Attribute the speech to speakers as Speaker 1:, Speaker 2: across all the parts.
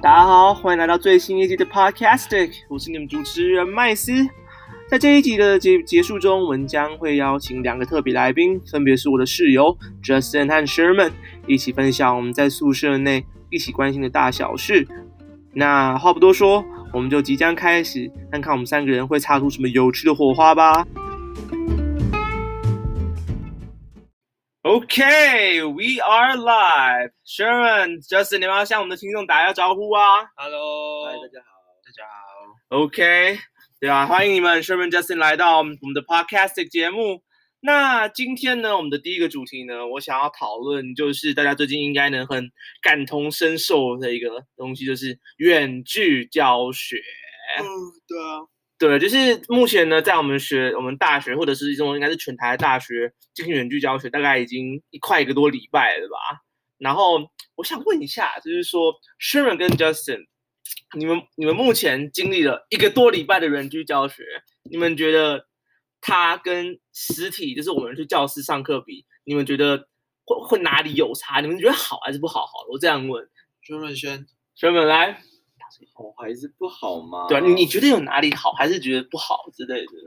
Speaker 1: 大家好，欢迎来到最新一集的 Podcastic， 我是你们主持人麦斯。在这一集的结束中，我们将会邀请两个特别来宾，分别是我的室友 Justin 和 Sherman， 一起分享我们在宿舍内一起关心的大小事。那话不多说，我们就即将开始，看看我们三个人会擦出什么有趣的火花吧。Okay, we are live. Sherman, Justin, 你们要向我们的听众打一下招呼啊
Speaker 2: Hello，
Speaker 3: 大家好，
Speaker 2: 大家好。
Speaker 1: OK， 对啊，欢迎你们 Sherman, Justin 来到我们的 Podcast 节目。那今天呢，我们的第一个主题呢，我想要讨论就是大家最近应该能很感同身受的一个东西，就是远距教学。
Speaker 2: 对啊。
Speaker 1: 对，就是目前呢，在我们大学或者是这种应该是全台的大学进行远距教学，大概已经快一个多礼拜了吧。然后我想问一下，就是说 Sherman 跟 Justin， 你们目前经历了一个多礼拜的远距教学，你们觉得它跟实体就是我们去教室上课比，你们觉得会哪里有差？你们觉得好还是不好？好了，我这样问。Sherman 来。
Speaker 3: 好还是不好吗？
Speaker 1: 对啊，你觉得有哪里好，还是觉得不好之类的？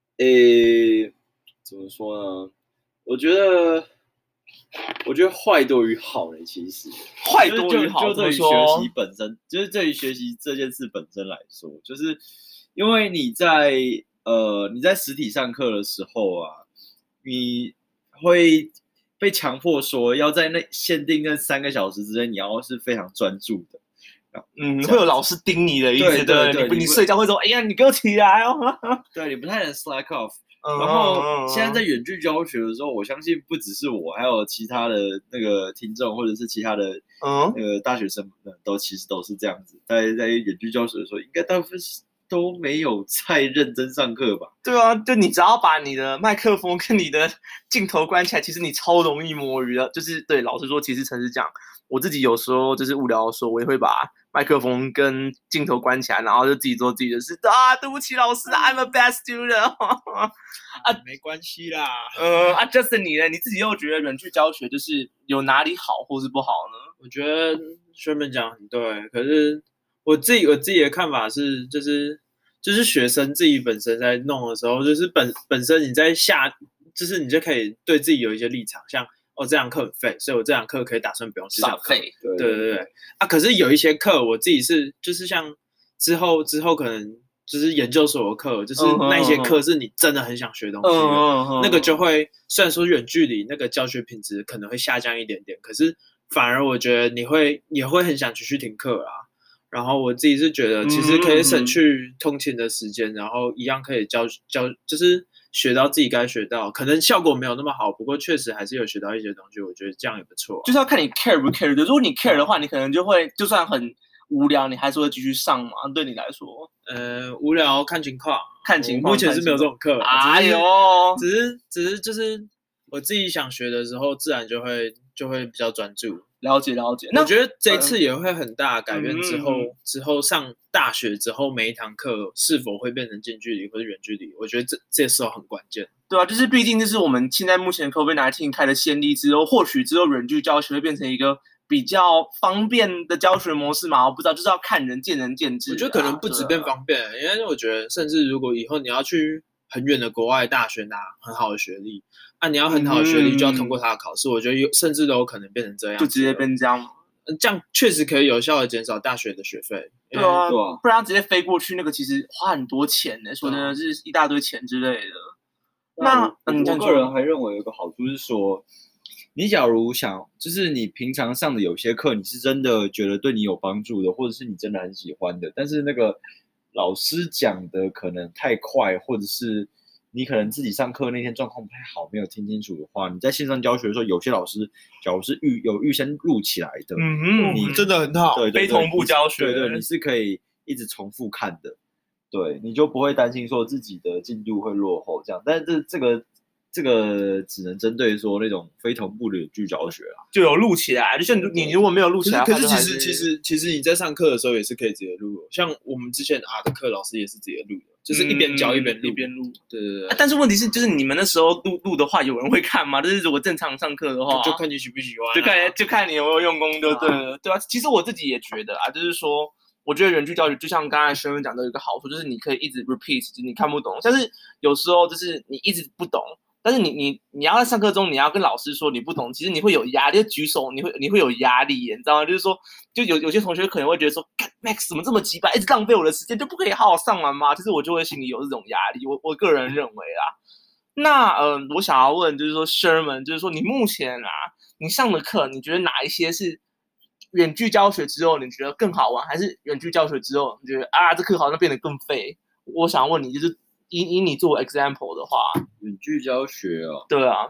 Speaker 3: 怎么说呢？我觉得坏多于好呢。其实
Speaker 1: 坏多于好，
Speaker 3: 就对于学习本身，就是对于学习这件事本身来说，就是因为你在实体上课的时候啊，你会被强迫说要在限定那3个小时之内，你要是非常专注的。
Speaker 1: 会有老师盯你的意思，对，你睡觉会说，哎呀，你给我起来哦。
Speaker 3: 对，你不太能 slack off。然后现在在远距教学的时候，我相信不只是我，还有其他的那个听众，或者是其他的那个大学生们，其实都是这样子。在远距教学的时候，应该大部分都没有太认真上课吧？
Speaker 1: 对啊，就你只要把你的麦克风跟你的镜头关起来，其实你超容易摸鱼的。就是对，老实说，其实诚实讲，我自己有时候就是无聊的时候，我也会把麦克风跟镜头关起来，然后就自己做自己的事啊。对不起，老师 ，I'm a bad student
Speaker 2: 啊，没关系啦。
Speaker 1: Justin 你呢？你自己又觉得远距教学就是有哪里好或是不好呢？
Speaker 2: 我觉得 Sherman 讲很对，可是我自己的看法是，就是学生自己本身在弄的时候，就是本身你在就是你就可以对自己有一些立场，像这堂课很废，所以我这堂课可以打算不用去上课。对啊，可是有一些课我自己是就是像之后可能就是研究所的课，就是那一些课是你真的很想学东西的，那个就会虽然说远距离那个教学品质可能会下降一点点，可是反而我觉得也会很想继续听课啦。然后我自己是觉得其实可以省去通勤的时间，然后一样可以教就是学到自己该学到，可能效果没有那么好，不过确实还是有学到一些东西，我觉得这样也不错。
Speaker 1: 就是要看你 care 不 care 的，如果你 care 的话，你可能就会就算很无聊，你还是会继续上嘛。对你来说，
Speaker 2: 无聊看情况，
Speaker 1: 目
Speaker 2: 前是没有这种课。
Speaker 1: 哎呦，
Speaker 2: 只是就是我自己想学的时候，自然就会比较专注。
Speaker 1: 了解。
Speaker 2: 那我觉得这一次也会很大改变。之后上大学之后，每一堂课是否会变成近距离或者远距离，我觉得这时候很关键。
Speaker 1: 对啊，就是毕竟这是我们现在目前 COVID-19 开的先例之后，或许之后远距教学会变成一个比较方便的教学模式嘛？我不知道，就是要看人见仁见智。
Speaker 2: 我觉得可能不止变方便，因为我觉得甚至如果以后你要去很远的国外大学拿很好的学历，你要很好的学历就要通过他的考试，我觉得甚至都有可能变成这样，
Speaker 1: 就直接变这样。
Speaker 2: 这样确实可以有效的减少大学的学费。
Speaker 1: 对啊，不然直接飞过去那个其实花很多钱呢，说真的是一大堆钱之类的。那
Speaker 3: 我个人还认为有个好处是说，你假如想就是你平常上的有些课，你是真的觉得对你有帮助的，或者是你真的很喜欢的，但是那个老师讲的可能太快，或者是你可能自己上课那天状况不太好，没有听清楚的话，你在线上教学的时候，有些老师假如是预先录起来的，
Speaker 2: 你真的很好，
Speaker 3: 对，
Speaker 1: 非同步教学，
Speaker 3: 对，你是可以一直重复看的，对，你就不会担心说自己的进度会落后这样。但是这个只能针对说那种非同步的远距教学啊。
Speaker 1: 就有录起来，就像你如果没有录起来的话，
Speaker 2: 可是其实你在上课的时候也是可以直接录的，像我们之前的课老师也是直接录的，就是一边教一边录。对对对。
Speaker 1: 但是问题是，就是你们那时候录的话，有人会看吗？就是如果正常上课的话，
Speaker 2: 就看你喜不喜欢，
Speaker 1: 就看你有没有用功就对了，对吧？其实我自己也觉得啊，就是说。我觉得远距教学就像刚才学员讲的有一个好处，就是你可以一直 repeat， 就是你看不懂，但是有时候就是你一直不懂，但是你要在上课中你要跟老师说你不懂，其实你会有压力，就举手你会有压力耶，你知道吗？就是说，就有些同学可能会觉得说 ，Max 怎么这么鸡巴，一直浪费我的时间，就不可以好好上完吗？其实我就会心里有这种压力，我个人认为啊，那我想要问就是说 Sherman， 就是说你目前啊，你上的课，你觉得哪一些是？远距教学之后，你觉得更好玩，还是远距教学之后，你觉得这课好像变得更废？我想问你，就是以你做 example 的话，
Speaker 3: 远距教学哦，
Speaker 1: 对啊，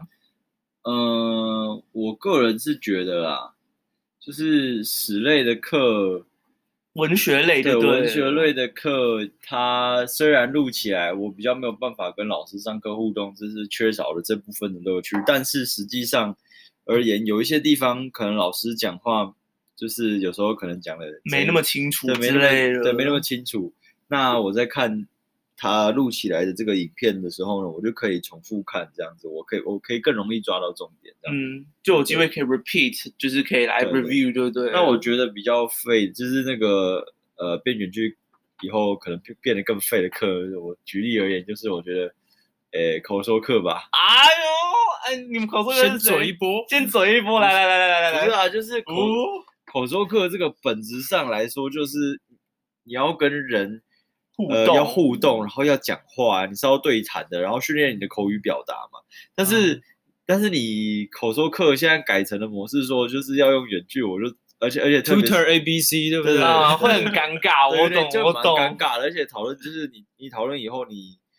Speaker 3: 我个人是觉得啦，就是史类的课，
Speaker 1: 文学类的，
Speaker 3: 对文学类的课，它虽然录起来，我比较没有办法跟老师上课互动，这是缺少了这部分的乐趣。但是实际上而言，有一些地方可能老师讲话。就是有时候可能讲的
Speaker 1: 没那么清楚
Speaker 3: 之类的，对，没那么清楚。那我在看他录起来的这个影片的时候呢，我就可以重复看这样子，我可以更容易抓到重点。
Speaker 1: 就有机会可以 repeat， 就是可以来 review， 对不对？
Speaker 3: 那我觉得比较废，就是那个变远距以后可能变得更废的课。我举例而言，就是我觉得，口说课吧。
Speaker 1: 你们口说课
Speaker 2: 先嘴一波，
Speaker 1: 来，
Speaker 3: 不是啊，就是口说课这个本质上来说，就是你要跟人要互动，然后要讲话，你是要对谈的，然后训练你的口语表达嘛。但是你口说课现在改成的模式说，就是要用远距，而且
Speaker 2: tutor ABC 对不对？
Speaker 1: 会很尴尬，我懂，
Speaker 3: 尴尬的。而且讨论就是你讨论以后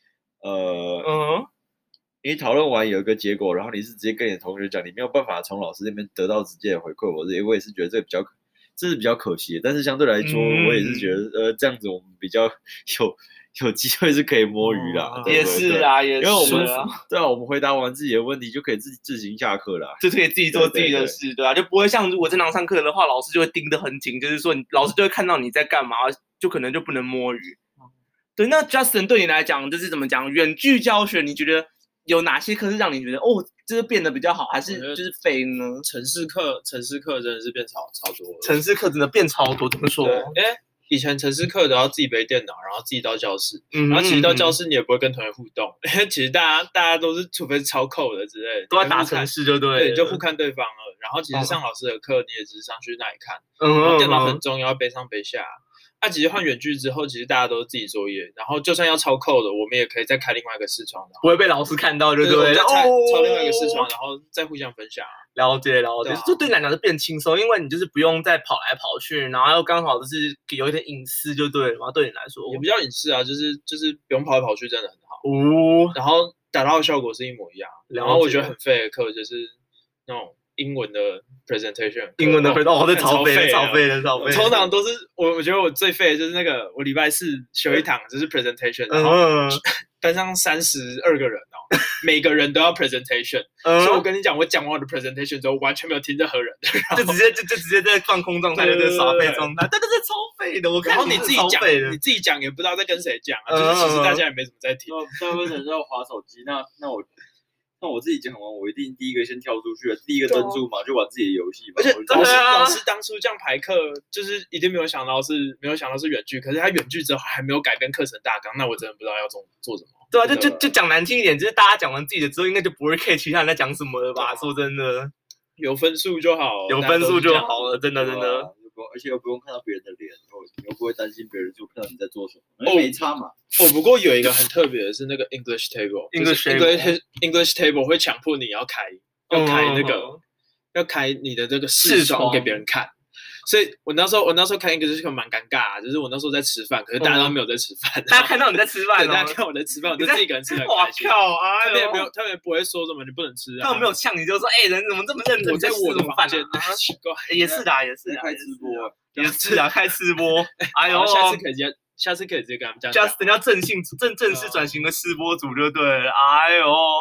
Speaker 3: 你讨论完有一个结果，然后你是直接跟你的同学讲，你没有办法从老师那边得到直接的回馈。我也是觉得这是比较可惜的。但是相对来说，我也是觉得这样子我们比较有机会是可以摸鱼啦。
Speaker 1: 也是啊，也是。
Speaker 3: 因为我们回答完自己的问题就可以自行下课啦，
Speaker 1: 就可以自己做自己的事，对啊，就不会像如果正常上课的话，老师就会盯得很紧，就是说老师就会看到你在干嘛，就可能就不能摸鱼。对，那 Justin 对你来讲就是怎么讲？远距教学，你觉得？有哪些课是让你觉得就是变得比较好，还是就是废呢？
Speaker 2: 程式课真的是变超多了。
Speaker 1: 程式课真的变超多，怎么说？
Speaker 2: 以前程式课都要自己背电脑，然后自己到教室，然后其实到教室你也不会跟同学互动，因为其实大家都是除非是抄扣的之类的，
Speaker 1: 都要打程式就对，
Speaker 2: 你就互看对方了。然后其实上老师的课你也只是上去那里看，然后电脑很重要，背上背下。其实换远距之后，其实大家都是自己作业，然后就算要抄扣的，我们也可以再开另外一个视窗，
Speaker 1: 不会被老师看到，对不对？
Speaker 2: 抄另外一个视窗，然后再互相分享。
Speaker 1: 了解，就对你来讲是变轻松，因为你就是不用再跑来跑去，然后又刚好就是有一点隐私，就对了嘛。对你来说
Speaker 2: 也比较隐私啊，就是不用跑来跑去，真的很好。然后达到的效果是一模一样。然后我觉得很废的课就是那种英文的 presentation，
Speaker 1: 英文的 presentation， 这超废的。
Speaker 2: 通常都是我觉得我最废的就是那个我礼拜四修一堂就是 presentation， 然后班上32个人每个人都要 presentation， 所以我跟你讲，我讲完我的 presentation 之后，完全没有听任何人，
Speaker 1: 就直接在放空状态，在耍废状态，对，超废的。我看
Speaker 2: 你自己讲也不知道在跟谁讲，就是其实大家也没什么在听，
Speaker 3: 大部分人都要滑手机。那我自己讲完，我一定第一个先跳出去，第一个专注嘛，就玩自己的游戏嘛。
Speaker 2: 而且老师当初这样排课，就是一定没有想到是远距，可是他远距之后还没有改变课程大纲，那我真的不知道要做什么。
Speaker 1: 对啊，就讲难听一点，就是大家讲完自己的之后，应该就不会 care 其他人在讲什么了吧？说真的，
Speaker 2: 有分数就好，
Speaker 1: 有分数就好了，真的。
Speaker 3: 而且又不用看到别人的脸，你又不会担心别人就看到你在做什么，没差嘛。
Speaker 2: 不过有一个很特别的是那个 English Table，English Table 会强迫你要开你的这个视窗给别人看。所以我那时候看 English Table 蛮尴尬，就是我那时候在吃饭，可是大家都没有在吃饭，
Speaker 1: 大家看到你在吃饭，
Speaker 2: 大家看我在吃饭，我就自己一个人吃得很开心。他们也不会说什么你不能吃啊，
Speaker 1: 他们没有呛你，就说人怎么这么认真？
Speaker 2: 我在我的房间，奇怪，
Speaker 1: 也是的，
Speaker 3: 开直播，
Speaker 1: 也是啊，开直播。
Speaker 2: 下次可以直接跟他们讲。
Speaker 1: Justin 要正式转型的吃播主就对了。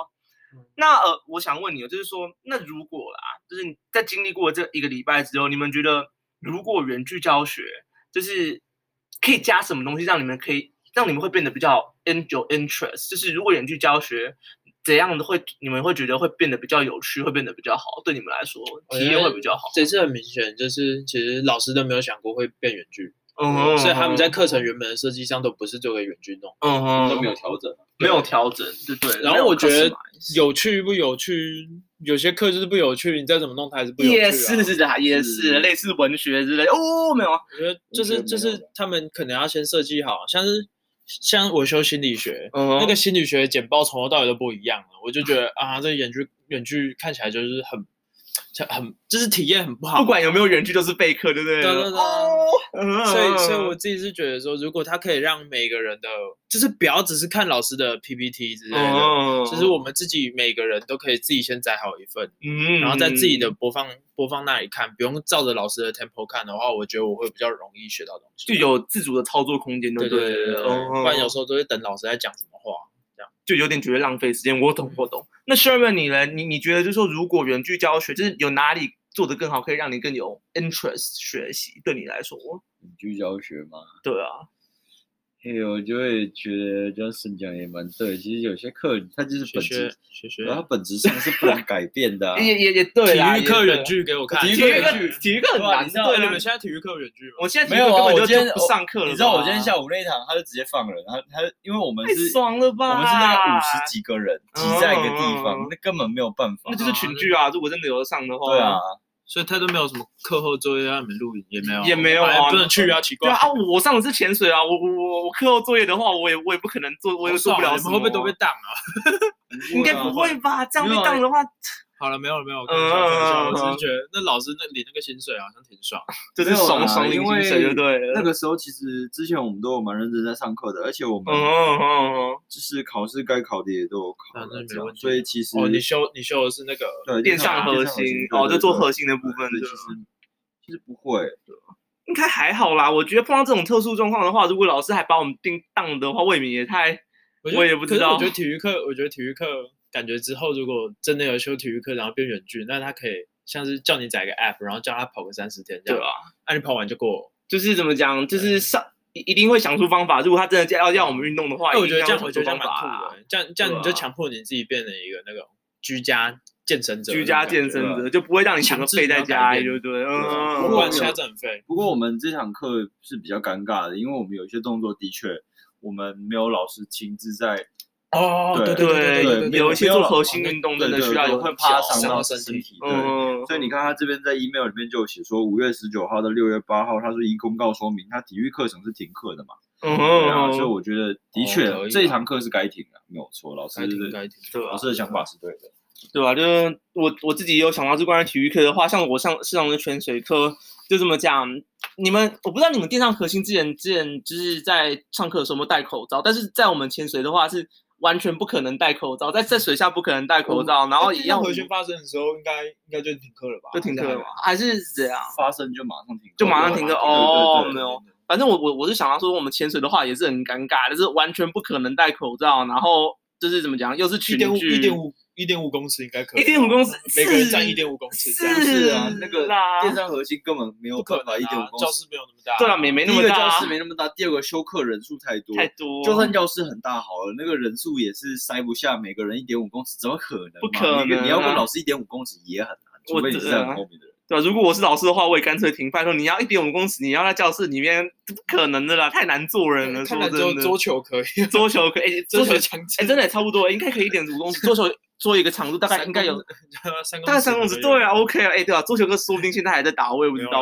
Speaker 1: 那我想问你，就是说，那如果啦，就是你在经历过这1个礼拜之后，你们觉得如果远距教学，就是可以加什么东西，让你们会变得比较有 interest？就是如果远距教学怎样的你们会觉得会变得比较有趣，会变得比较好，对你们来说体验会比较好。
Speaker 2: 这次很明显，就是其实老师都没有想过会变远距。所以他们在课程原本的设计上都不是做给远距弄，
Speaker 3: 都没有调整，
Speaker 1: 没有调整，对。
Speaker 2: 然后我觉得有趣不有趣，有些课就是不有趣，你再怎么弄它还是不有趣。
Speaker 1: 也是类似文学之类没有。
Speaker 2: 我觉得就是他们可能要先设计好，像我修心理学，那个心理学简报从头到尾都不一样了，我就觉得啊，这远距看起来就是很就是体验很不好，
Speaker 1: 不管有没有远距都是备课，对不对？
Speaker 2: 对。所以我自己是觉得说，如果他可以让每个人的，就是不要只是看老师的 PPT 之类的，就是我们自己每个人都可以自己先载好一份，然后在自己的播放那里看，不用照着老师的 tempo 看的话，我觉得我会比较容易学到东西，
Speaker 1: 就有自主的操作空间，对。
Speaker 2: 不然有时候都会等老师在讲什么话。
Speaker 1: 就有点觉得浪费时间，我懂。那 Sherman 你呢？你觉得就是说，如果远距教学，就是有哪里做得更好，可以让你更有 interest 学习？对你来说，
Speaker 3: 远距教学吗？
Speaker 1: 对啊。
Speaker 3: 我就会觉得这样讲也蛮对。其实有些课它就是本质，它本质上是不能改变的。
Speaker 1: 也对啦。
Speaker 2: 体育课远距给我看，
Speaker 1: 体育课很难。
Speaker 2: 对，你们现在体育课远距吗？
Speaker 1: 我现在体育课根本就不上课了。
Speaker 3: 你知道我今天下午那一堂他就直接放人，他因为我们是
Speaker 1: 太爽了吧？
Speaker 3: 我们是那个50几个人挤在一个地方，那根本没有办法。
Speaker 1: 那就是群聚啊！如果真的有上的话，
Speaker 3: 对啊。
Speaker 2: 所以他都没有什么课后作业让你们录影，
Speaker 1: 也没有啊，
Speaker 2: 不能去啊，奇怪。
Speaker 1: 对啊，我上的是潜水啊，我课后作业的话，我也不可能做，我也做不了什么。
Speaker 2: 你们会不会都被当啊？
Speaker 1: 应该不会吧？这样被当的话，
Speaker 2: 好了，没有，开玩笑，我只是觉得那老师领那个薪水好像挺爽，
Speaker 1: 就是爽领薪水就对了。
Speaker 3: 那个时候其实之前我们都有蛮认真在上课的，而且我们就是考试该考的也都有考，所以其实
Speaker 2: 你修的是那个
Speaker 1: 电上核心就做核心的部分的，
Speaker 3: 其实不会，
Speaker 1: 应该还好啦。我觉得碰到这种特殊状况的话，如果老师还把我们当的话，未免也太，我也不知道。
Speaker 2: 我觉得体育课感觉之后，如果真的有修体育课，然后变远距，那他可以像是叫你载个 app， 然后叫他跑个30天这样。对啊，你跑完就过。
Speaker 1: 就是怎么讲，就是一定会想出方法。如果他真的要我们运动的话，
Speaker 2: 我觉得这样蛮酷的。这样你就强迫你自己变成一个那种居家健身者，
Speaker 1: 就不会让你想废在家里，对不对？
Speaker 2: 不然其他真很废。
Speaker 3: 不过我们这堂课是比较尴尬的，因为我们有一些动作的确我们没有老师亲自在。
Speaker 1: 对，有一些做核心运动真的需要有
Speaker 3: 会怕伤到身体。所以你看他这边在 email 里面就有写说，5月19号到6月8号，他说依公告说明，他体育课程是停课的嘛。所以我觉得的确这一堂课是该停的，没有错。老师的想法是对的。
Speaker 1: 对吧？就是我自己有想到，就关于体育课的话，像我上的泉水课，就这么讲。我不知道你们电上核心之前就是在上课的时候有没有戴口罩，但是在我们潜水的话是完全不可能戴口罩，在水下不可能戴口罩，然后一样。
Speaker 2: 核心发生的时候，应该就停课了吧？
Speaker 1: 就停课了吗？还是怎样？
Speaker 3: 发生就马上停课，
Speaker 1: 没有。反正我是想到说，我们潜水的话也是很尴尬，就是完全不可能戴口罩，然后就是怎么讲，又是群聚
Speaker 2: 1.5公尺应该可以。
Speaker 1: 1.5公尺，
Speaker 2: 每个人站1.5公尺。
Speaker 3: 是啊，那个电商核心根本没有办法1.5公尺，
Speaker 2: 教室没有那么大。
Speaker 1: 对啊，没那么大。
Speaker 3: 第一个教室没那么大，第二个修课人数太多。就算教室很大好了，那个人数也是塞不下每个人1.5公尺，怎么可能？
Speaker 1: 不可能。
Speaker 3: 你要问老师1.5公尺也很难，除非你是在很后面的人。
Speaker 1: 对吧？如果我是老师的话，我也干脆停。拜托，你要1.5公尺，你要在教室里面，不可能的啦，太难做人了。
Speaker 2: 看来桌球可以，
Speaker 1: 桌球可以，
Speaker 2: 桌球强，
Speaker 1: 真的也差不多，应该可以1.5公尺。桌球做一个长度大概应该有大概3公尺，对啊 ，OK 啊，对啊，桌球课说不定现在还在打，我也不知道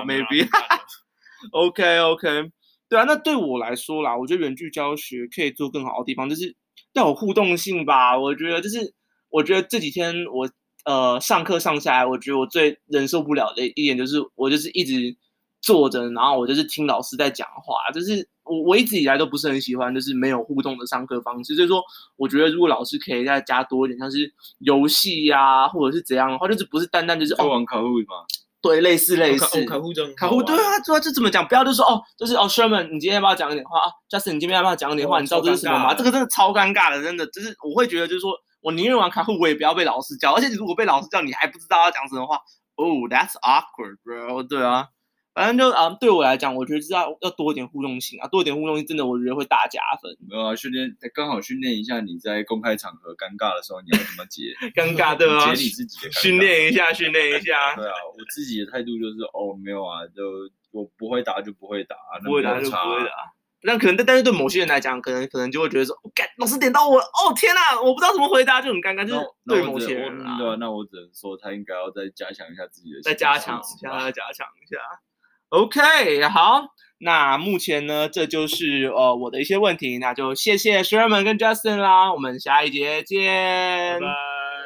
Speaker 1: ，maybe。OK， 对啊，那对我来说啦，我觉得远距教学可以做更好的地方，就是要有互动性吧。我觉得这几天我。上课上下来，我觉得我最忍受不了的一点就是，我就是一直坐着，然后我就是听老师在讲话，就是我一直以来都不是很喜欢，就是没有互动的上课方式。所以说，我觉得如果老师可以再加多一点，像是游戏呀，或者是怎样的话，就是不是单单就是
Speaker 3: 玩卡户嘛。
Speaker 1: 对，类似
Speaker 2: 卡户
Speaker 1: 对啊，就怎么讲？不要就说Sherman， 你今天要不要讲一点话啊 ？Justin， 你今天要不要讲一点话？你知道这是什么吗？这个真的超尴尬的，真的，就是我会觉得就是说。 我宁愿玩卡户，我也不要被老师教。而且如果被老师教，你还不知道要讲什么话，that's awkward, bro。对啊，反正就对我来讲，我觉得要多一点互动性啊，多一点互动性，真的我觉得会大加分。
Speaker 3: 没有啊，刚好训练一下你在公开场合尴尬的时候你要怎么解，
Speaker 1: 尴尬对吧？
Speaker 3: 解你自己的尴尬。
Speaker 1: 训练一下。
Speaker 3: 对啊，我自己的态度就是没有啊，就我不会打就不会打，
Speaker 1: 不会打就不会打。那可能，但是对某些人来讲，可能就会觉得说，老师点到我，天哪，我不知道怎么回答，就很尴尬。就是对某些人
Speaker 3: 那我只能说，他应该要再加强一下自己的，
Speaker 1: 再加强一下。OK， 好，那目前呢，这就是我的一些问题，那就谢谢 Sherman 跟 Justin 啦，我们下一节见，
Speaker 2: 拜拜。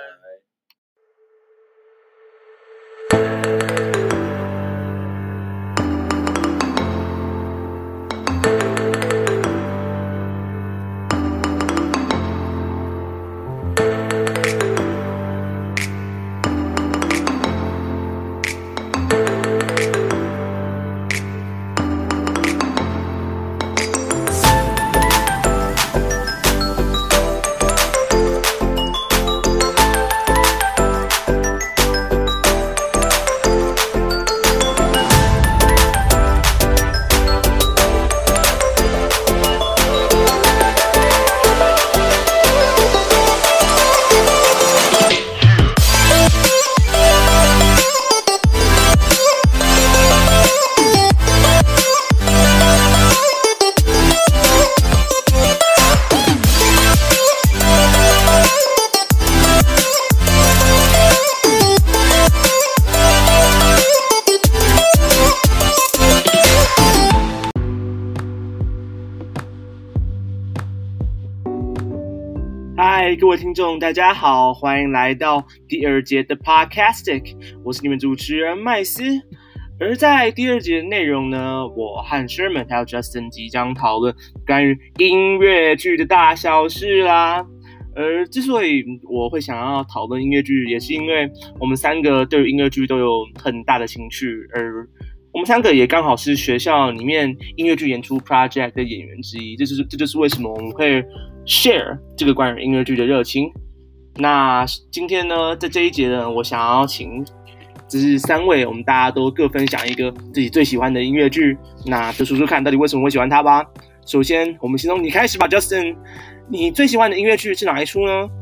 Speaker 1: 嗨，各位听众，大家好，欢迎来到第二节的 Podcastic， 我是你们主持人麦斯。而在第二节的内容呢，我和 Sherman 还有 Justin 即将讨论关于音乐剧的大小事啦。而之所以我会想要讨论音乐剧，也是因为我们三个对于音乐剧都有很大的兴趣，而我们三个也刚好是学校里面音乐剧演出 project 的演员之一，这就是为什么我们会 share 这个关于音乐剧的热情。那今天呢，在这一节呢，我想要请就是三位，我们大家都各分享一个自己最喜欢的音乐剧，那就说说看到底为什么会喜欢它吧。首先，我们先从你开始吧 ，Justin， 你最喜欢的音乐剧是哪一出呢？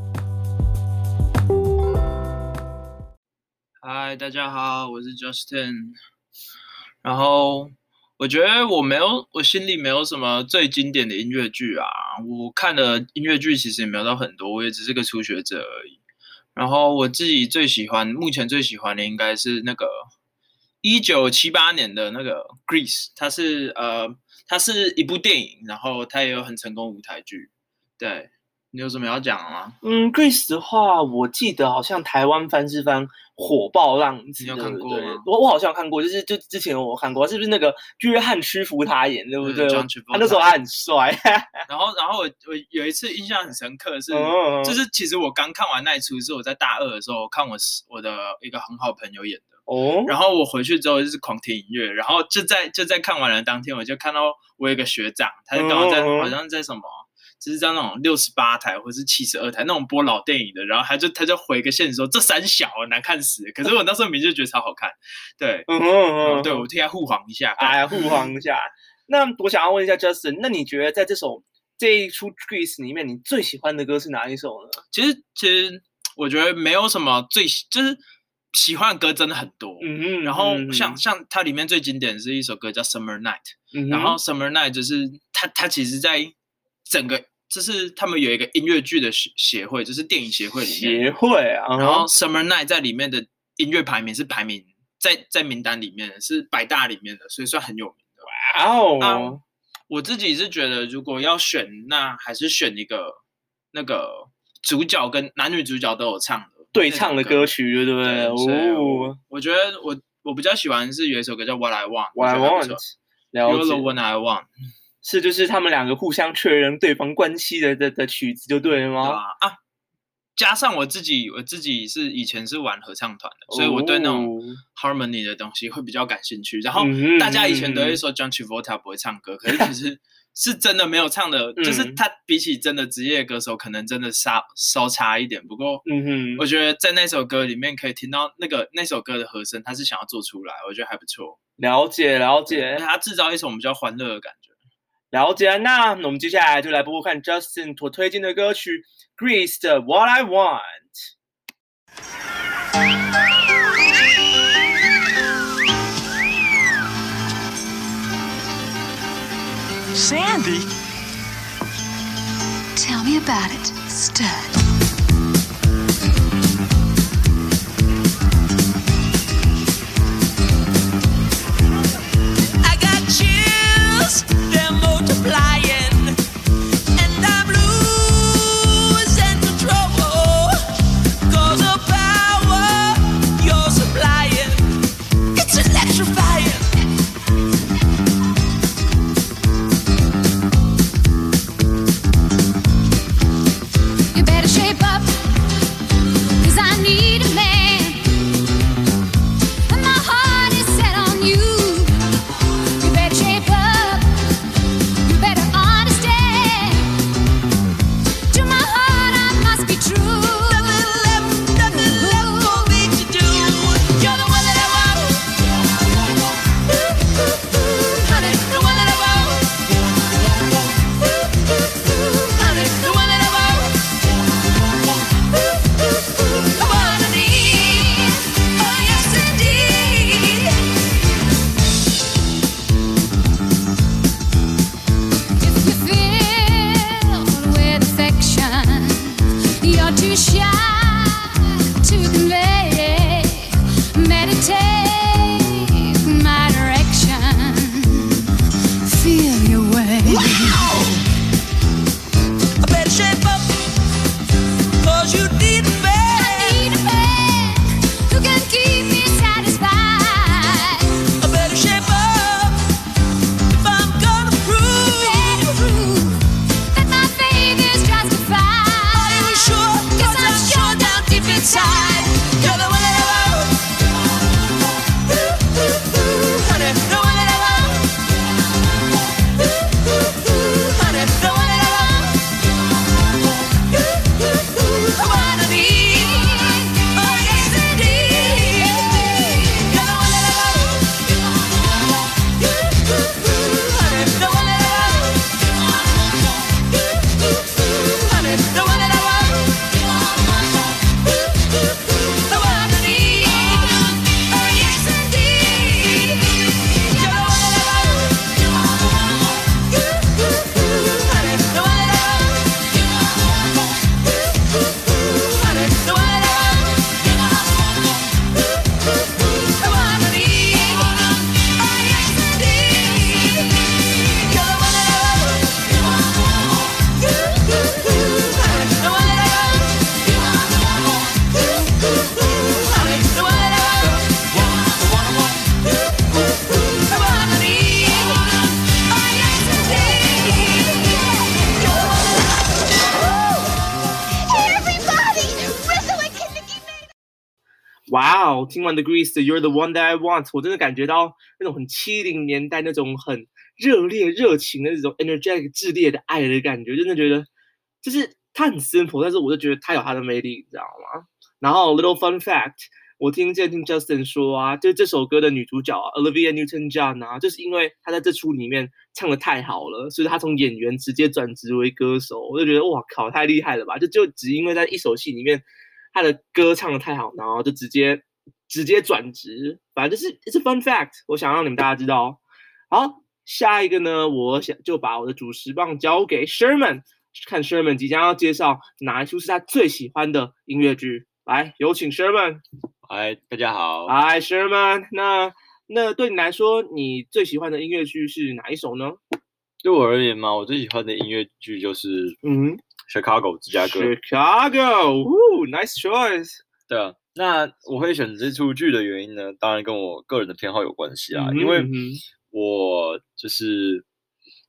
Speaker 2: 嗨，大家好，我是 Justin。然后我觉得我心里没有什么最经典的音乐剧啊，我看的音乐剧其实也没有到很多，我也只是个初学者而已。然后我自己目前最喜欢的应该是那个1978年的那个 Grease， 它是一部电影，然后它也有很成功舞台剧。对，你有什么要讲的吗
Speaker 1: ？Grease 的话，我记得好像台湾翻是翻火爆浪子，
Speaker 2: 你有看过吗？
Speaker 1: 我好像有看过，就之前我看过，是不是那个约翰·屈服他演，对不对？他那时候还很帅。
Speaker 2: 然后我有一次印象很深刻是，就是其实我刚看完那一出是我在大二的时候看我的一个很好朋友演的。然后我回去之后就是狂听音乐，然后就在看完了当天，我就看到我有一个学长，他刚好好像在什么。就是在那种68台或是72台那种播老电影的，然后他就回个线说这三小难看死了，可是我那时候明就觉得超好看，对，对我替他护航一下，
Speaker 1: 护航一下。那我想要问一下 Justin， 那你觉得在这一出 Grease 里面，你最喜欢的歌是哪一首呢？
Speaker 2: 其实我觉得没有什么就是喜欢的歌真的很多，然后像它里面最经典的是一首歌叫 Summer Night，然后 Summer Night 就是它其实在整个就是他们有一个音乐剧的协会，就是电影协会里面
Speaker 1: 协会啊，
Speaker 2: 然后 Summer Night 在里面的音乐排名是排名在名单里面是100大里面的，所以算很有名的。
Speaker 1: 哇哦！
Speaker 2: 我自己是觉得如果要选，那还是选一个那个主角跟男女主角都有唱的
Speaker 1: 对唱的歌曲，对不对？
Speaker 2: 哦，我觉得我比较喜欢是有一首歌叫 What I Want，What
Speaker 1: I Want，You're
Speaker 2: the One I Want。
Speaker 1: 就是他们两个互相确认对方关系的曲子就对了吗？
Speaker 2: 加上我自己是以前是玩合唱团的，所以我对那种 harmony 的东西会比较感兴趣。然后大家以前都会说 John Travolta 不会唱歌，可是其实是真的没有唱的，就是他比起真的职业歌手，可能真的稍差一点。不过，我觉得在那首歌里面可以听到那首歌的和声，他是想要做出来，我觉得还不错。
Speaker 1: 了解，
Speaker 2: 他制造一种比较欢乐的感觉。
Speaker 1: 了解，那我们接下来就来播播看 Justin 所推荐的歌曲 Grease 的 What I Want。
Speaker 4: Sandy? Tell me about it, stud.
Speaker 5: I got chills, they're multiplying, and I'm losing control. 'Cause of power you're supplying, it's electrifying. You better shape up, 'cause I need a man, and my heart is set on you. You better shape up, you better understand. To my heart I must be true. Nothing left for me to do. You're the one that I want, honey, the one that I want, honey, the one that I want, the one I need. Oh yes indeed. If you filled with affection, you're too shy to convey. Meditate my direction. Feel your way. I better shape up, 'cause you need a man. I need a man who can keep me satisfied. I better shape up if I'm gonna prove that my faith is justified. Are you sure? 'Cause I'm sure down deep inside you're the one that I want, honey, the one that I want, honey, the one that I want, the one I need. Oh yes indeed. You're the one that I want, honey, the one that I want, honey, the one that I want, the one I need. Oh yes indeed. You're the one that I want, honey, the one that I want, honey, the one that I want, the one I need. Oh yes indeed. You're the one that I want, honey, the one that I want, honey, the one that I want, the one I need. Oh yes indeed. Hey everybody, Rizzo and Kinnicky made it.
Speaker 1: 哇哦！听完 The Grease 的 You're the One That I Want， 我真的感觉到那种很70年代那种很热烈热情的那种 energetic 炽烈的爱的感觉，真的觉得就是它很 simple， 但是我就觉得它有它的魅力，你知道吗？然后 little fun fact， 我听 Justin 说啊，就这首歌的女主角啊 Olivia Newton-John 啊，就是因为她在这出里面唱的太好了，所以她从演员直接转职为歌手，我就觉得哇靠，太厉害了吧！就只因为在一首戏里面，她的歌唱的太好，然后就直接转职，反正就是 it's a fun fact， 我想让你们大家知道。好，下一个呢，我想就把我的主持棒交给 Sherman， 看 Sherman 即将要介绍哪一出是他最喜欢的音乐剧。来，有请 Sherman。
Speaker 3: 嗨，大家好。
Speaker 1: 嗨 Sherman， 那对你来说，你最喜欢的音乐剧是哪一首呢？
Speaker 3: 对我而言嘛，我最喜欢的音乐剧就是Chicago 芝加哥。
Speaker 1: Chicago，nice choice。
Speaker 3: 对啊，那我会选这出剧的原因呢，当然跟我个人的偏好有关系啊，因为我就是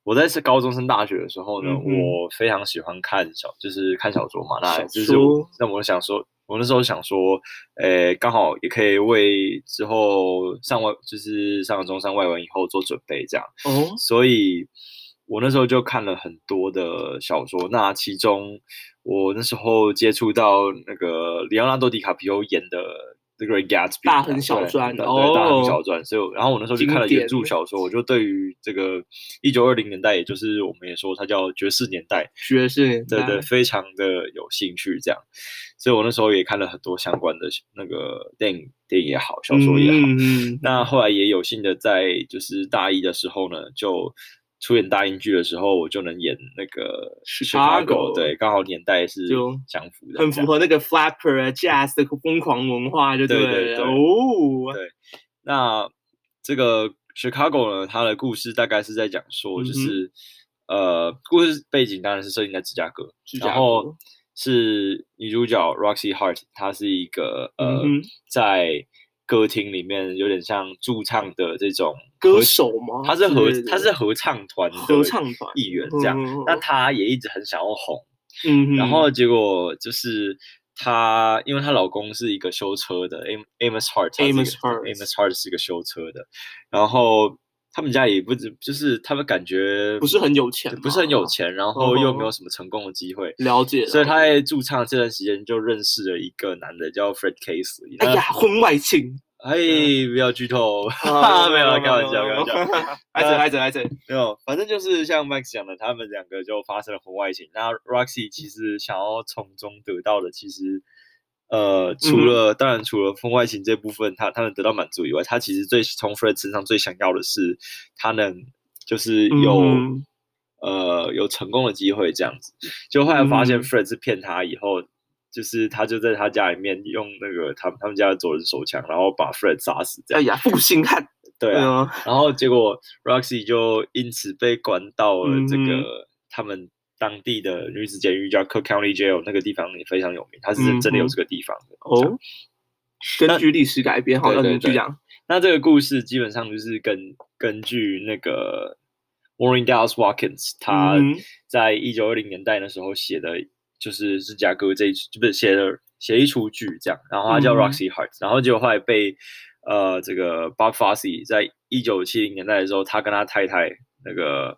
Speaker 3: 我在是高中升大学的时候呢，
Speaker 1: 嗯哼
Speaker 3: 我非常喜欢就是看小说嘛。那
Speaker 1: 小
Speaker 3: 就是
Speaker 1: 说
Speaker 3: 我想说，我那时候想说，刚好也可以为之后就是上了中山外文以后做准备这样。
Speaker 1: 哦，
Speaker 3: 所以我那时候就看了很多的小说。那其中我那时候接触到那个里奥纳多·迪卡皮欧演的《The Great Gatsby》
Speaker 1: 大亨小传
Speaker 3: 对，
Speaker 1: 哦
Speaker 3: 大亨小传。所以，然后我那时候就看了原著
Speaker 1: 经典
Speaker 3: 小说，我就对于这个1920年代，也就是我们也说它叫爵士年代，
Speaker 1: 爵士年代
Speaker 3: 对，非常的有兴趣这样。所以我那时候也看了很多相关的那个电影也好，小说也好。那后来也有幸的在就是大一的时候呢，就出演大英剧的时候，我就能演那个
Speaker 1: Chicago
Speaker 3: 对，刚好年代是
Speaker 1: 就
Speaker 3: 相符的，
Speaker 1: 很符合那个 flapper jazz 的疯狂文化，就
Speaker 3: 对
Speaker 1: 了。
Speaker 3: 对
Speaker 1: 哦，
Speaker 3: 对，那这个 Chicago 呢，它的故事大概是在讲说，就是故事背景当然是设定在芝加哥，然后是女主角 Roxy Hart， 她是一个在歌厅里面有点像驻唱的这种
Speaker 1: 歌手吗？
Speaker 3: 她是合唱团的艺员这样。那她也一直很想要红，然后结果就是她因为她老公是一个修车的 Amos Hart 是一个修车的，然后他们家也不就是他们感觉
Speaker 1: 不是很有钱，
Speaker 3: 然后又没有什么成功的机会，
Speaker 1: 了解。
Speaker 3: 所以他在驻唱这段时间就认识了一个男的叫 Fred Casely。
Speaker 1: 哎呀，婚外情！
Speaker 3: 哎，不要剧透，没有，开玩笑。
Speaker 1: 来者，
Speaker 3: 没有，反正就是像 Max 讲的，他们两个就发生了婚外情。那 Roxy 其实想要从中得到的，其实当然除了婚外情这部分，他们得到满足以外，他其实从 Fred 身上最想要的是他能就是有成功的机会这样子。就后来发现 Fred 是骗他以后，就是他就在他家里面用那个他们家的左轮手枪，然后把 Fred 杀死这样。
Speaker 1: 哎呀，负心汉。
Speaker 3: 对啊，然后结果 Roxy 就因此被关到了这个他们当地的女子监狱叫 Cook County Jail， 那个地方也非常有名，它是真的有这个地方的。
Speaker 1: 哦，根据历史改编，好，那你就讲。
Speaker 3: 那这个故事基本上就是根据那个 Maureen Dallas Watkins 他在1920年代的时候写的，就是芝加哥写一出剧这样，然后他叫 Roxy Hart， 然后结果后来被这个 Bob Fosse 在1970年代的时候，他跟他太太那个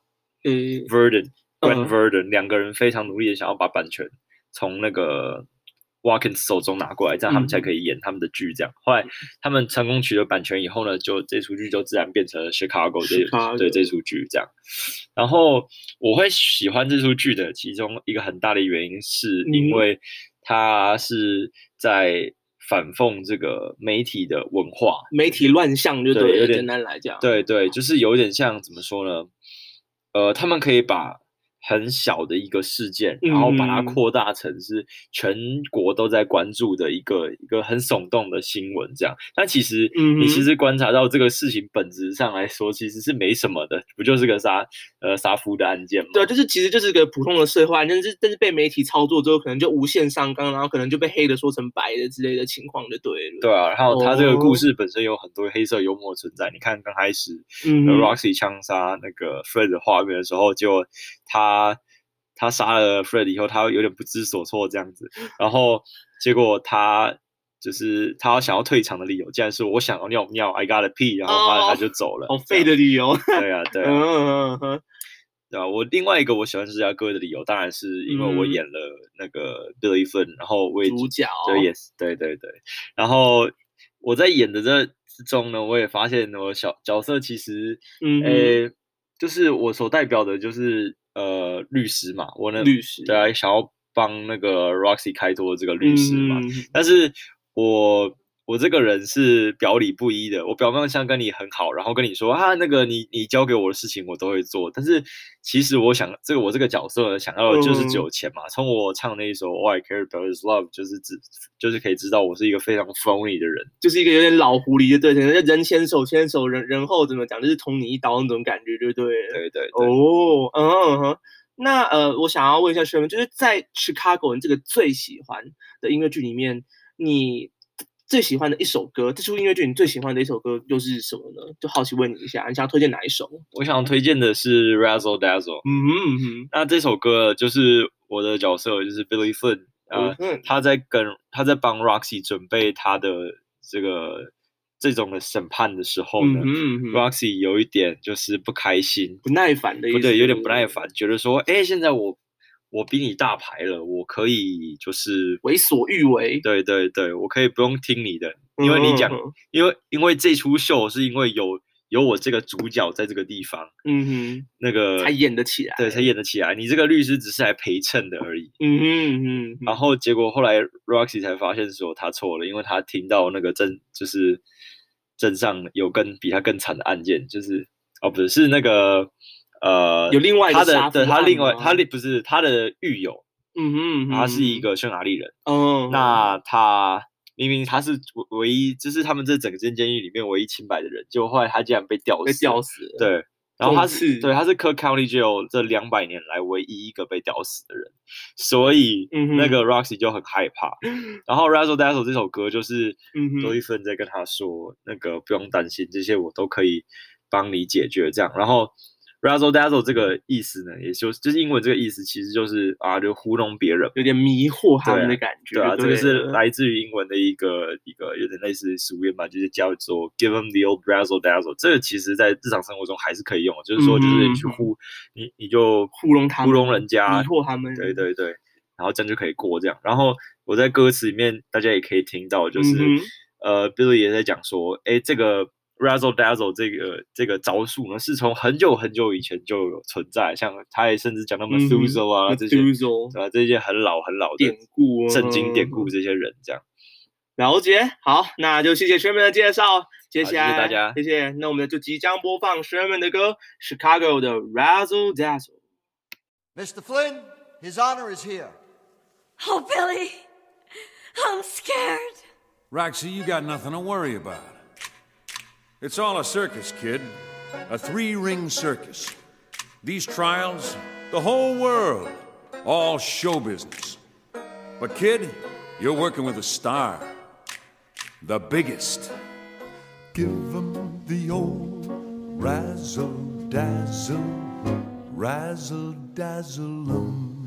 Speaker 3: Grant Verdon 两个人非常努力的想要把版权从那个 Watkins 手中拿过来，这样他们才可以演他们的剧。这样，后来他们成功取得版权以后呢，就这出剧就自然变成了 Chicago 这出剧这样。然后我会喜欢这出剧的其中一个很大的原因，是因为它是在反讽这个媒体的文化，
Speaker 1: 媒体乱象就对，
Speaker 3: 有点
Speaker 1: 简单来讲，
Speaker 3: 对，就是有点像怎么说呢？他们可以把很小的一个事件，然后把它扩大成是全国都在关注的一个很耸动的新闻，这样。但其实你其实观察到这个事情本质上来说，其实是没什么的，不就是个杀夫的案件吗？
Speaker 1: 对，其实就是个普通的社会案件，但是被媒体操作之后，可能就无限上纲，然后可能就被黑的说成白的之类的情况就对了。
Speaker 3: 对啊，然后他这个故事本身有很多黑色幽默存在。你看刚开始Roxy 枪杀那个 Fred 的画面的时候，就他杀了 Fred 以后，他有点不知所措这样子，然后结果他想要退场的理由，竟然是我想要尿尿 ，I got a pee， 然后他就走了。
Speaker 1: 好废的理由。
Speaker 3: 对啊。对啊，我另外一个我喜欢芝加哥的理由，当然是因为我演了那个 Billy Flynn， 然后我也
Speaker 1: 主角。
Speaker 3: 对，然后我在演的这之中呢，我也发现我角色其实，就是我所代表的就是律师嘛，我呢
Speaker 1: 律师
Speaker 3: 对啊，想要帮那个 Roxy 开脱这个律师嘛，但是我这个人是表里不一的，我表面上跟你很好，然后跟你说那个你交给我的事情我都会做，但是其实我这个角色想要的就是只有钱嘛。从我唱那一首 All I Care About Is Love， 就是可以知道我是一个非常 phony 的人，
Speaker 1: 就是一个有点老狐狸的，对，人前手牵手，人后怎么讲，就是捅你一刀那种感觉，对不对？
Speaker 3: 对。
Speaker 1: 那我想要问一下Sherman，就是在 Chicago 你这个最喜欢的音乐剧里面，你最喜欢的一首歌，这出音乐剧你最喜欢的一首歌又是什么呢？就好奇问你一下，你想要推荐哪一首？
Speaker 3: 我想推荐的是 Razzle Dazzle。那这首歌就是我的角色就是 Billy Flynn，他在帮 Roxy 准备他的这种的审判的时候呢，Roxy 有一点就是不开心、
Speaker 1: 不耐烦的意思，
Speaker 3: 对，有点不耐烦，觉得说，现在我比你大牌了，我可以就是
Speaker 1: 为所欲为。
Speaker 3: 对，我可以不用听你的，因为你讲，因为这出秀是因为有我这个主角在这个地方，那个
Speaker 1: 才演得起来，
Speaker 3: 对，才演得起来。你这个律师只是来陪衬的而已。然后结果后来 Roxy 才发现说他错了，因为他听到那个就是镇上有比他更惨的案件，就是不是是那个
Speaker 1: 有另外一个杀夫案吗？
Speaker 3: 他不是他的狱友，他是一个匈牙利人，那他明明他是唯一，就是他们这整间监狱里面唯一清白的人，结果后来他竟然被吊死了。对，然后他是 Cook County Jail 这200年来唯一一个被吊死的人，所以那个 Roxy 就很害怕。然后 Razzle Dazzle 这首歌就是多一份在跟他说，那个不用担心，这些我都可以帮你解决这样。然后 Razzle Dazzle 这个意思呢，也就是英文这个意思，其实就是就糊弄别人，
Speaker 1: 有点迷惑他们的感觉。
Speaker 3: 对啊，这个是来自于英文的一个有点类似俗谚吧，就是叫做 Give them the old Razzle Dazzle。这个其实在日常生活中还是可以用的，就是说就是你去你就
Speaker 1: 糊弄他们，
Speaker 3: 糊弄人家，
Speaker 1: 迷惑他们。
Speaker 3: 对，然后这样就可以过这样。然后我在歌词里面大家也可以听到，就是Billy 也在讲说，这个Razzle Dazzle 这个招数呢，是从很久很久以前就有存在，像他也甚至讲到 Methuselah 啊这些，对吧？这些很老很老的
Speaker 1: 典故、
Speaker 3: 圣经典故，这些人这样。
Speaker 1: 了解，好，那就谢谢 Sherman 的介绍。接下来，
Speaker 3: 谢谢大家，
Speaker 1: 谢谢。那我们就即将播放 Sherman 的歌 ，Chicago 的 Razzle Dazzle。Mr.
Speaker 6: Flynn, His Honor is here.
Speaker 5: Oh, Billy, I'm scared.
Speaker 7: Roxy, you got nothing to worry about. It's all a circus, kid. A 3-ring circus. These trials, the whole world, all show business. But kid, you're working with a star. The biggest. Give 'em the old razzle-dazzle, razzle-dazzle 'em.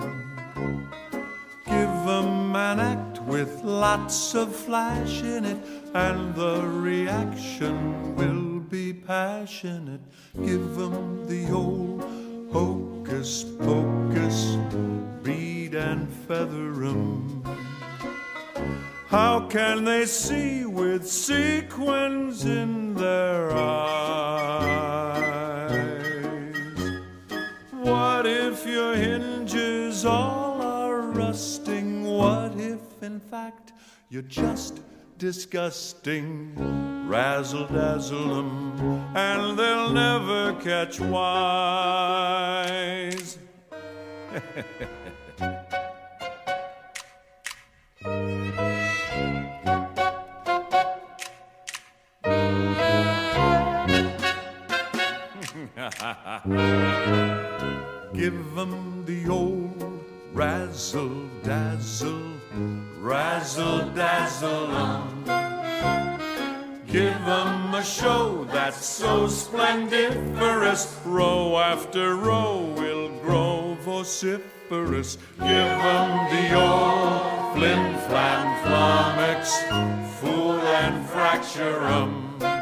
Speaker 7: Give 'em an act with lots of flash in it, and the reaction will be passionate. Give 'em the old hocus pocus, bead and feather 'em. How can they see with sequins in their eyes? What if your hinges all are rusting? What if, in fact, you're just disgusting? Razzle-dazzle 'em, and they'll never catch wise. Give 'em the old razzle-dazzle, razzle-dazzle 'em. Give 'em a show that's so splendiferous, row after row will grow vociferous. Give 'em the old flim-flam-flummox, fool and fracture 'em.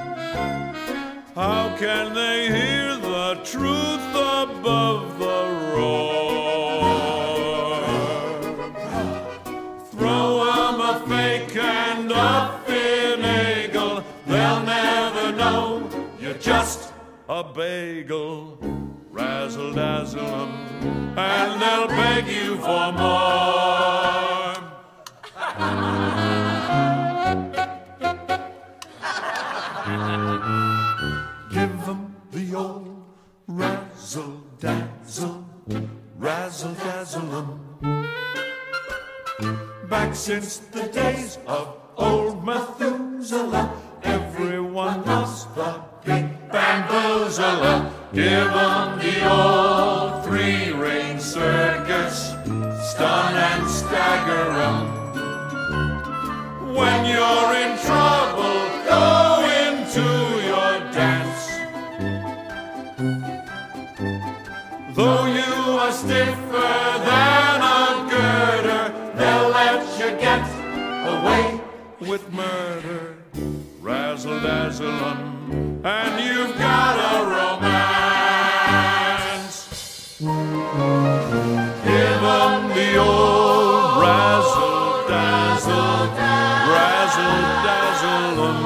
Speaker 7: How can they hear the truth above the roar? Throw 'em a fake and a finagle, they'll never know you're just a bagel. Razzle-dazzle 'em, and they'll beg you for more. Give 'em the old razzle-dazzle, razzle-dazzle 'em. Back since the days of old Methuselah, everyone loves the big bamboozler. Give 'em the old 3-ring circus, stun and stagger 'em. When you're in trouble, Though you are stiffer than a girder, they'll let you get away with murder. Razzle dazzle 'em, and you've got a romance. Give 'em the old razzle dazzle, razzle dazzle 'em.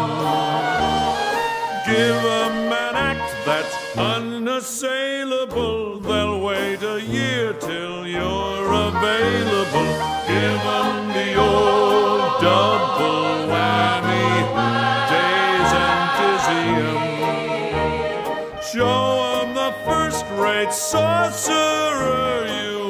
Speaker 7: Give 'em an act that's unassailable. They'll wait a year till you're available. Give 'em the old double whammy, daze and dizzy 'em. Show 'em the first-rate sorcerer you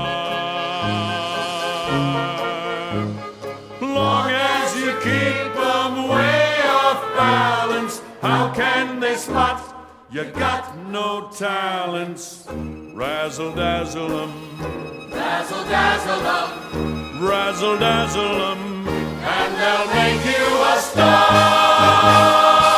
Speaker 7: are. Long as you keep 'em way off balance, how can they spot you got no talents? Razzle dazzle 'em, razzle dazzle 'em, razzle dazzle 'em, and they'll make you a star.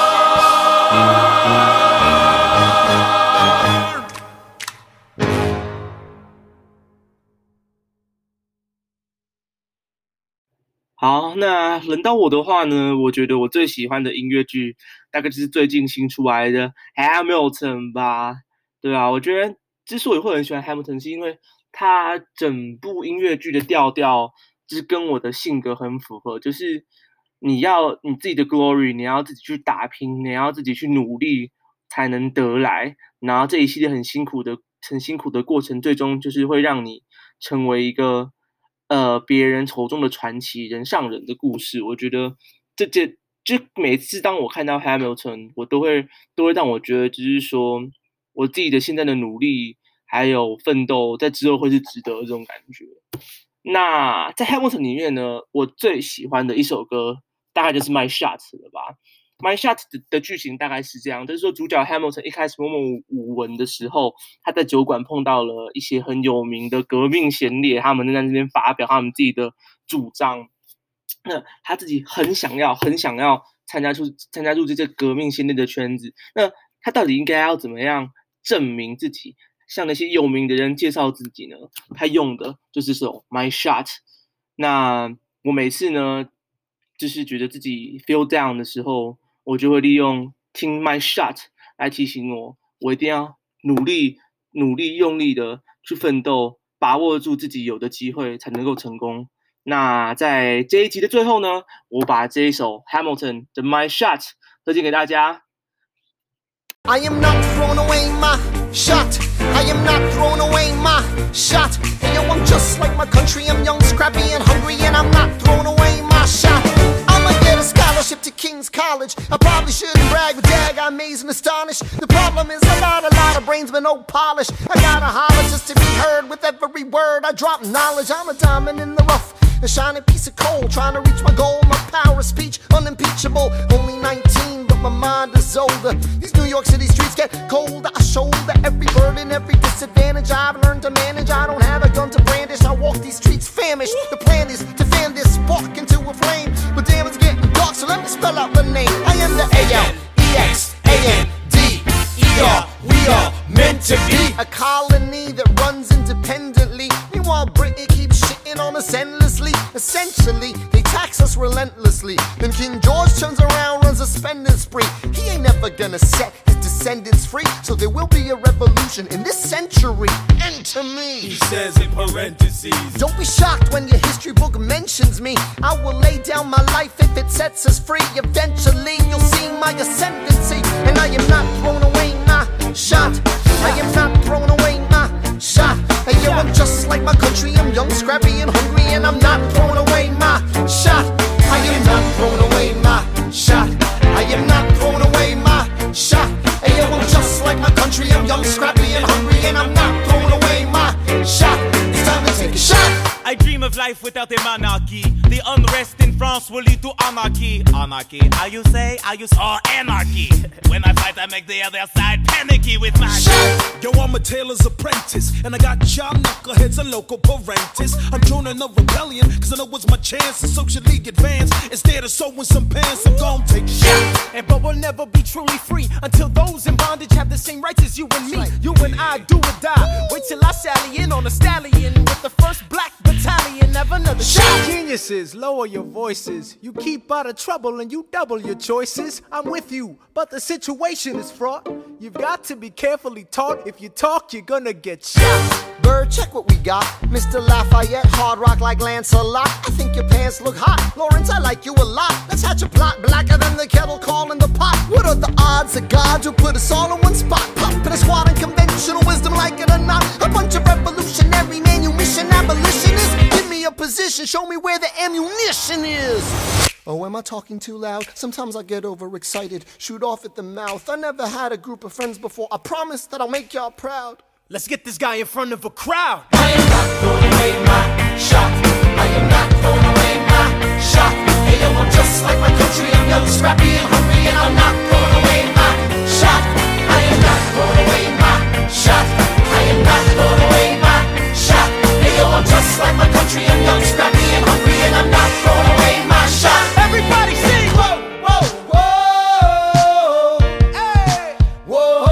Speaker 1: 好，那轮到我的话呢，我觉得我最喜欢的音乐剧大概就是最近新出来的 Hamilton 吧，对啊，我觉得之所以会很喜欢 Hamilton， 是因为它整部音乐剧的调调就是跟我的性格很符合，就是你自己的 glory， 你要自己去打拼，你要自己去努力才能得来，然后这一系列很辛苦的过程，最终就是会让你成为一个别人口中的传奇，人上人的故事。我觉得就每次当我看到 Hamilton， 我都会让我觉得，就是说我自己的现在的努力还有奋斗，在之后会是值得的这种感觉。那在 Hamilton 里面呢，我最喜欢的一首歌大概就是 My Shot 了吧。My Shot 的剧情大概是这样，就是说主角 Hamilton 一开始默默无闻的时候，他在酒馆碰到了一些很有名的革命先烈，他们在那边发表他们自己的主张。那他自己很想要参加入这些革命先烈的圈子。那他到底应该要怎么样证明自己，向那些有名的人介绍自己呢？他用的就是这首 My Shot。那我每次呢，就是觉得自己 feel down 的时候，我就会利用听 My Shot 来提醒我一定要努力用力的去奋斗，把握住自己有的机会才能够成功。那在这一集的最后呢，我把这一首 Hamilton 的 My Shot 推荐给大家。
Speaker 6: I am not throwing away my shot. I am not throwing away my shot. Hey, yo, I'm just like my country. I'm young, scrappy, and hungry, and I'm not throwing away my shot. I'ma get a scholarship to King's College. I probably shouldn't brag, but dag, I'm amazed and astonished. The problem is I got a lot of brains, but no polish. I gotta holler just to be heard with every word. I drop knowledge. I'm a diamond in the rough, a shining piece of coal, trying to reach my goal. My power of speech, unimpeachable. Only 19, but my mind is older. These New York City streets get colder. I shoulder every burden, every disadvantage I've learned to manage. I don't have a gun to brandish. I walk these streets famished. The plan is to fan this spark into a flame. But damn, it's getting dark, so let me spell out the name. I am the A-L-E-X-A-N-D-E-R. We are meant to be a colony that runs independently. Meanwhile, Britain keeps shitting on us endlessly. Essentially, they tax us relentlessly. Then King George turns around, runs a spending spree. He ain't never gonna set his descendants free. So there will be a revolution in this century. Enter me.
Speaker 8: He says in parentheses.
Speaker 6: Don't be shocked when your history book mentions me. I will lay down my life if it sets us free. Eventually, you'll see my ascendancy. And I am not throwing away my shot. I am not throwing away my shot. Hey, yo, I'm just like my country. I'm young, scrappy, and hungry, and I'm not throwing away my shot. I am not throwing away my shot. I am not throwing away my shot. Hey, yo, I'm just like my country. I'm young, scrappy, and hungry, and I'm not throwing away my shot. It's time to take a shot.
Speaker 8: I dream of life without a monarchy. The unrest in France will lead to anarchy. Anarchy, how you say? Anarchy. When I fight, I make the other side panicky with my
Speaker 9: Yo, I'm a tailor's apprentice, and I got y'all knuckleheads and local parentes. I'm joining a rebellion, cause I know it's my chance to socially advance. Instead of sewing some pants, I'm gon' take shit.
Speaker 10: But we'll never be truly free until those in bondage have the same rights as you and me. You and I do or die. Wait till I sally in on a stallion with the first black battalion. Have another shot. Geniuses, lower your voices. You keep out of trouble and you double your choices. I'm with you, but the situation is fraught. You've got to be carefully taught. If you talk, you're gonna get shot.
Speaker 6: Bird, check what we got. Mr. Lafayette, hard rock like Lancelot. I think your pants look hot. Lawrence, I like you a lot. Let's hatch a plot blacker than the kettle calling the pot. What are the odds that God will put us all in one spot? Pop in a squad and conventional wisdom, like it or not. A bunch of revolutionary manumission abolitionists. Give me a position, show me where the ammunition is. Oh, am I talking too loud? Sometimes I get overexcited, shoot off at the mouth. I never had a group of friends before. I promise that I'll make y'all proud.
Speaker 10: Let's get this guy in front of a crowd.
Speaker 6: I am not throwing away my shot. I am not throwing away my shot. Hey yo, I'm just like my country. I'm young, scrappy, and hungry, and I'm not throwing away my shot. I am not throwing away my shot. I am not throwing away my shot. Hey yo, I'm just like my country. I'm young, scrappy, and hungry, and I'm not throwing away my shot.
Speaker 10: Everybody sing!
Speaker 6: Whoa, whoa, whoa, hey, whoa.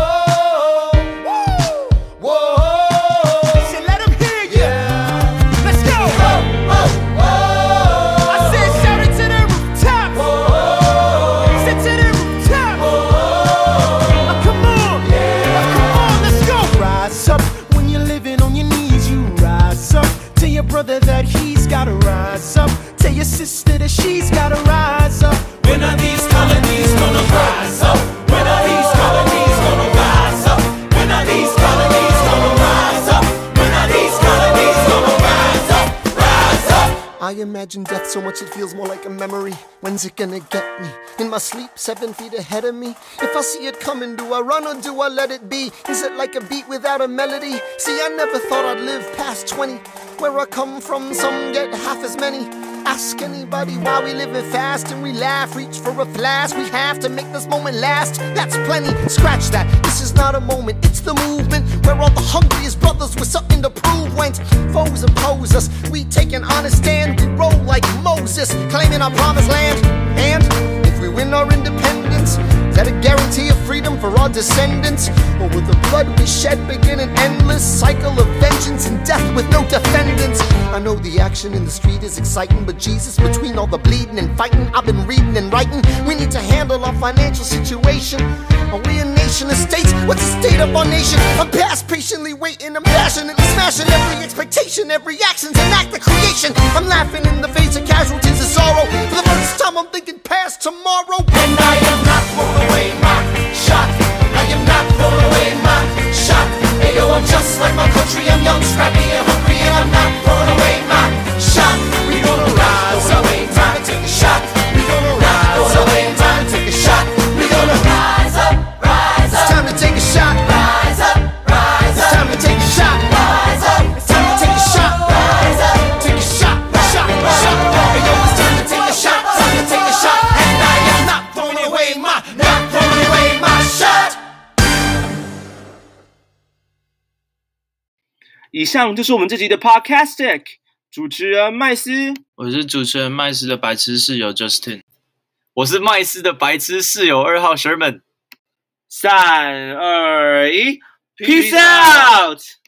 Speaker 10: Brother that he's gotta rise up. Tell your sister that she's gotta rise up.
Speaker 8: When are these colonies gonna rise up? When are these colonies gonna rise up? When are these colonies gonna rise up? When are these colonies gonna rise up? Rise up!
Speaker 6: I imagine death so much it feels more like a memory. When's it gonna get me? In my sleep, 7 feet ahead of me. If I see it coming, do I run or do I let it be? Is it like a beat without a melody? See, I never thought I'd live past 20. Where I come from, some get half as many. Ask anybody why we living fast and we laugh, reach for a flash. We have to make this moment last. That's plenty, scratch that. This is not a moment, it's the movement. Where all the hungriest brothers with something to prove went. Foes oppose us, we take an honest stand. We roll like Moses, claiming our promised land. And if we win our independence, is that a guarantee of freedom for our descendants? Or will the blood we shed begin an endless cycle of vengeance and death with no defendants? I know the action in the street is exciting, but Jesus, between all the bleeding and fighting I've been reading and writing, we need to handle our financial situation. Are we a nation of states? What's the state of our nation? I'm past patiently waiting, I'm passionately smashing every expectation, every action's an act of creation. I'm laughing in the face of casualties of sorrow. For the first time I'm thinking past tomorrow. And I am not throwing away my shot. I am not throwing away my shot. Hey yo, I'm just like my country. I'm young, scrappy, and hungry, and I'm not throwing away my shot. We gonna rise up, time to take a shot. We gonna rise up, time to take a shot. We gonna rise up, rise up. It's time to take a shot. Rise up, rise up. It's time to take a shot. Rise up. It's time to take a shot. Rise up. Take a shot, shot, shot. Hey yo, it's time to take a shot. Time to take a shot. And I am not throwing away my shot.
Speaker 1: 以上就是我们这集的 Podcastic， 主持人麦斯，
Speaker 2: 我是主持人麦斯的白痴室友 Justin，
Speaker 3: 我是麦斯的白痴室友2号 Sherman。
Speaker 1: 3、2、1 ，Peace out。